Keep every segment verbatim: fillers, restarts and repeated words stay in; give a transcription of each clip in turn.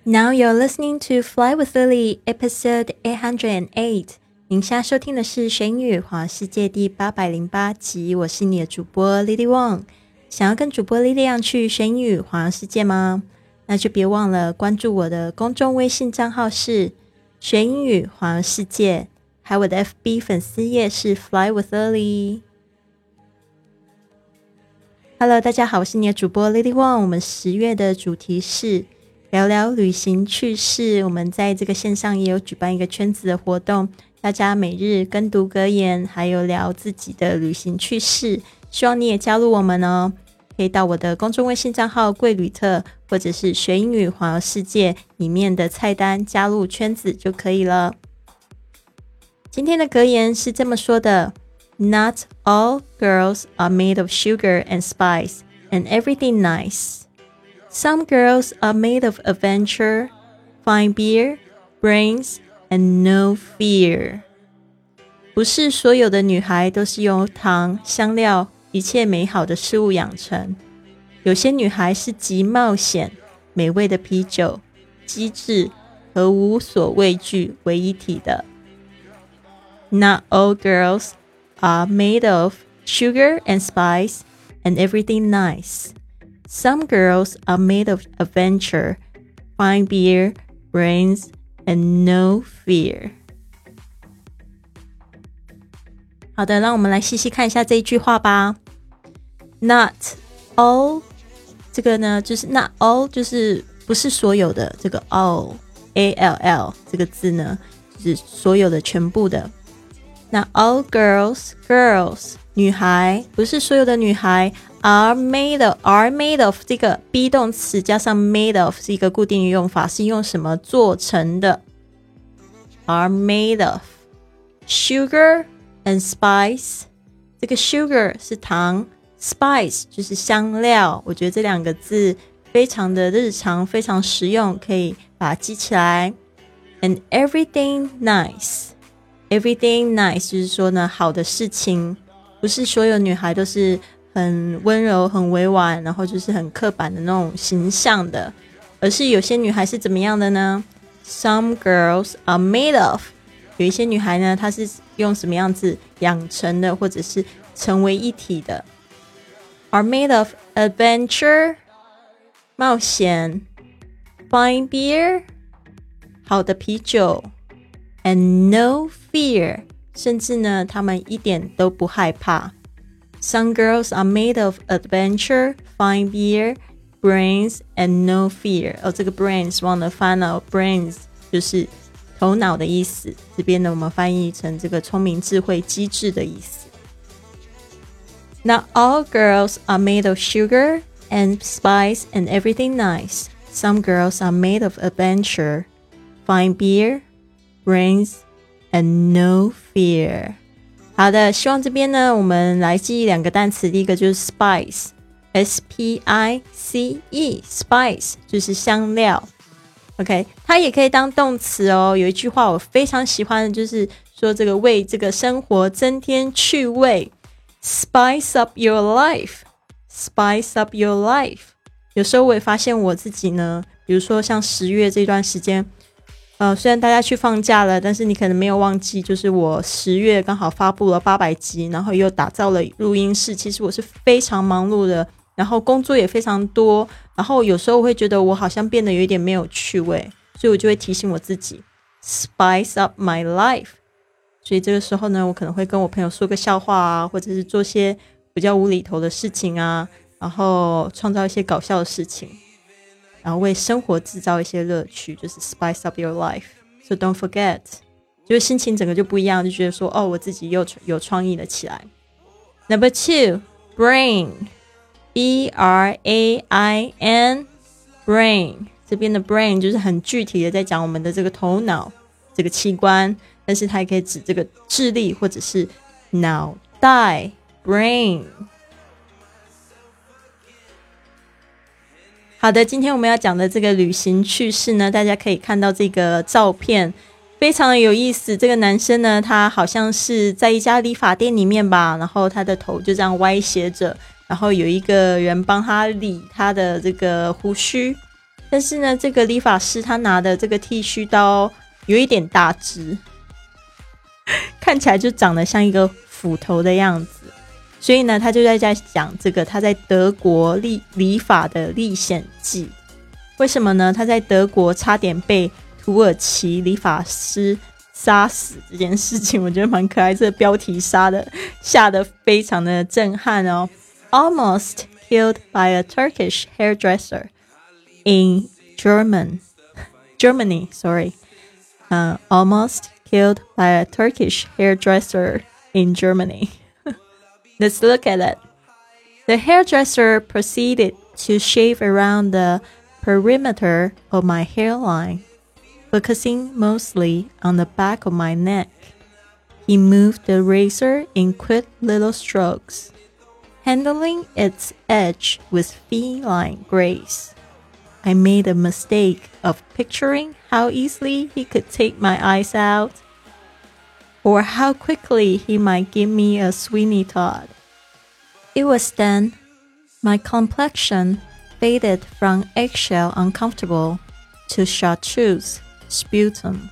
Now you're listening to Fly with Lily, episode eight hundred eight. 您现在收听的是学英语环游世界第八百零八集，我是你的主播 Lily Wong。想要跟主播 Lily 一样去学英语环游世界吗？那就别忘了关注我的公众微信账号是学英语环游世界，还有我的 F B 粉丝页是 Fly with Lily。Hello， 大家好，我是你的主播 Lily Wong。我们十月的主题是聊聊旅行趣事，我们在这个线上也有举办一个圈子的活动，大家每日跟读格言，还有聊自己的旅行趣事，希望你也加入我们哦。可以到我的公众微信账号贵旅特，或者是学英语环游世界里面的菜单加入圈子就可以了。今天的格言是这么说的， Not all girls are made of sugar and spice and everything nice.Some girls are made of adventure, fine beer, brains, and no fear. 不是所有的女孩都是由糖、香料、一切美好的事物养成。有些女孩是集冒险、美味的啤酒、机智和无所畏惧为一体的。Not all girls are made of sugar and spice and everything nice.Some girls are made of adventure, fine beer, brains, and no fear. 好的，让我们来细细看一下这一句话吧。Not all 这个呢，就是 not all 就是不是所有的，这个 all A L L 这个字呢，就是所有的全部的。那 all girls girls 女孩不是所有的女孩。Are made of, are made of 这个 be 动词加上 made of 是一个固定的用法，是用什么做成的？ Are made of sugar and spice， 这个 sugar 是糖， spice 就是香料，我觉得这两个字非常的日常，非常实用，可以把它记起来。And everything nice， everything nice 就是说呢，好的事情，不是所有女孩都是很温柔很委婉，然后就是很刻板的那种形象的，而是有些女孩是怎么样的呢？ Some girls are made of， 有一些女孩呢，她是用什么样子养成的，或者是成为一体的。 Are made of adventure， 冒险， fine beer， 好的啤酒， and no fear， 甚至呢她们一点都不害怕。Some girls are made of adventure, fine beer, brains, and no fear. 哦，这个 brains 忘了翻了 brains 就是头脑的意思，这边呢我们翻译成这个聪明智慧机智的意思。Not all girls are made of sugar and spice and everything nice. Some girls are made of adventure, fine beer, brains, and no fear.好的，希望这边呢我们来记忆两个单词，第一个就是 spice S P I C E spice 就是香料 OK， 它也可以当动词哦。有一句话我非常喜欢的就是说这个为这个生活增添趣味 Spice up your life Spice up your life 有时候我也发现我自己呢，比如说像十月这段时间呃，虽然大家去放假了，但是你可能没有忘记，就是我十月刚好发布了八百集，然后又打造了录音室，其实我是非常忙碌的，然后工作也非常多，然后有时候我会觉得我好像变得有一点没有趣味，所以我就会提醒我自己 Spice up my life。 所以这个时候呢，我可能会跟我朋友说个笑话啊，或者是做些比较无厘头的事情啊，然后创造一些搞笑的事情，然后为生活制造一些乐趣，就是 spice up your life. So don't forget， 就是心情整个就不一样，就觉得说哦，我自己又有创意了起来。Number two, brain, B R A I N, brain. 这边的 brain 就是很具体的在讲我们的这个头脑这个器官，但是它也可以指这个智力或者是脑袋 brain。好的，今天我们要讲的这个旅行趣事呢，大家可以看到这个照片非常的有意思。这个男生呢，他好像是在一家理发店里面吧，然后他的头就这样歪斜着，然后有一个人帮他理他的这个胡须， 但是呢，这个理发师他拿的这个剃须刀有一点大只，看起来就长得像一个斧头的样子，所以呢，他就在在讲这个他在德国理理发的历险记。为什么呢？他在德国差点被土耳其理发师杀死这件事情，我觉得蛮可爱。这个标题杀的下得非常的震撼哦。Almost killed by a Turkish hairdresser in German, Germany, sorry. Uh, almost killed by a Turkish hairdresser in Germany. Let's look at it. The hairdresser proceeded to shave around the perimeter of my hairline, focusing mostly on the back of my neck. He moved the razor in quick little strokes, handling its edge with feline grace. I made a mistake of picturing how easily he could take my eyes out, or how quickly he might give me a Sweeney Todd. It was then my complexion faded from eggshell uncomfortable to chartreuse sputum.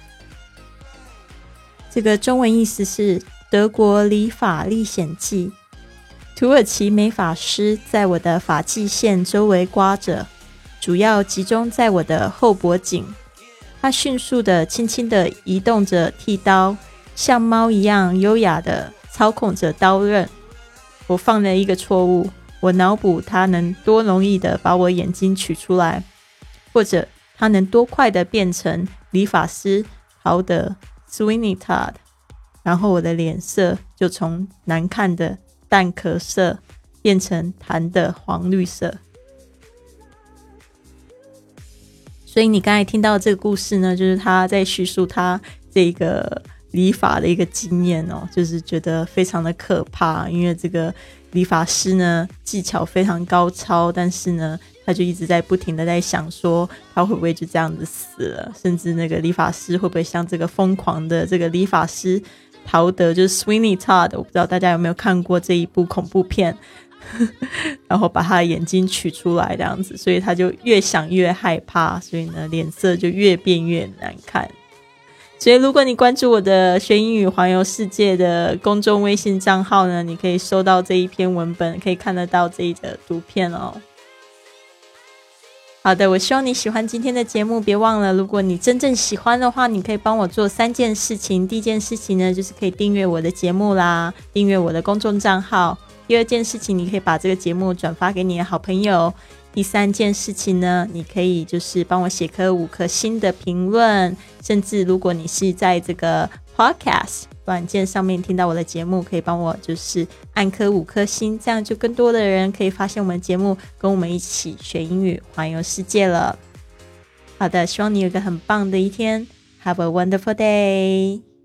这个中文意思是德国理发历险记。土耳其美发师在我的发际线周围刮着，主要集中在我的后脖颈。他迅速地轻轻地移动着剃刀，像猫一样优雅地操控着刀刃。我犯了一个错误，我脑补他能多容易地把我眼睛取出来，或者他能多快地变成理发师陶德 Sweeney Todd， 然后我的脸色就从难看的淡壳色变成弹的黄绿色。所以你刚才听到这个故事呢，就是他在叙述他这个理发的一个经验哦，就是觉得非常的可怕，因为这个理发师呢技巧非常高超，但是呢他就一直在不停的在想说他会不会就这样子死了，甚至那个理发师会不会像这个疯狂的这个理发师陶德，就是 Sweeney Todd， 我不知道大家有没有看过这一部恐怖片然后把他的眼睛取出来这样子，所以他就越想越害怕，所以呢脸色就越变越难看。所以如果你关注我的学英语环游世界的公众微信账号呢，你可以收到这一篇文本，可以看得到这一则图片哦。好的，我希望你喜欢今天的节目，别忘了如果你真正喜欢的话，你可以帮我做三件事情。第一件事情呢，就是可以订阅我的节目啦，订阅我的公众账号。第二件事情，你可以把这个节目转发给你的好朋友。第三件事情呢，你可以就是帮我写颗五颗星的评论，甚至如果你是在这个 podcast 软件上面听到我的节目，可以帮我就是按颗五颗星，这样就更多的人可以发现我们的节目，跟我们一起学英语环游世界了。好的，希望你有一个很棒的一天， Have a wonderful day。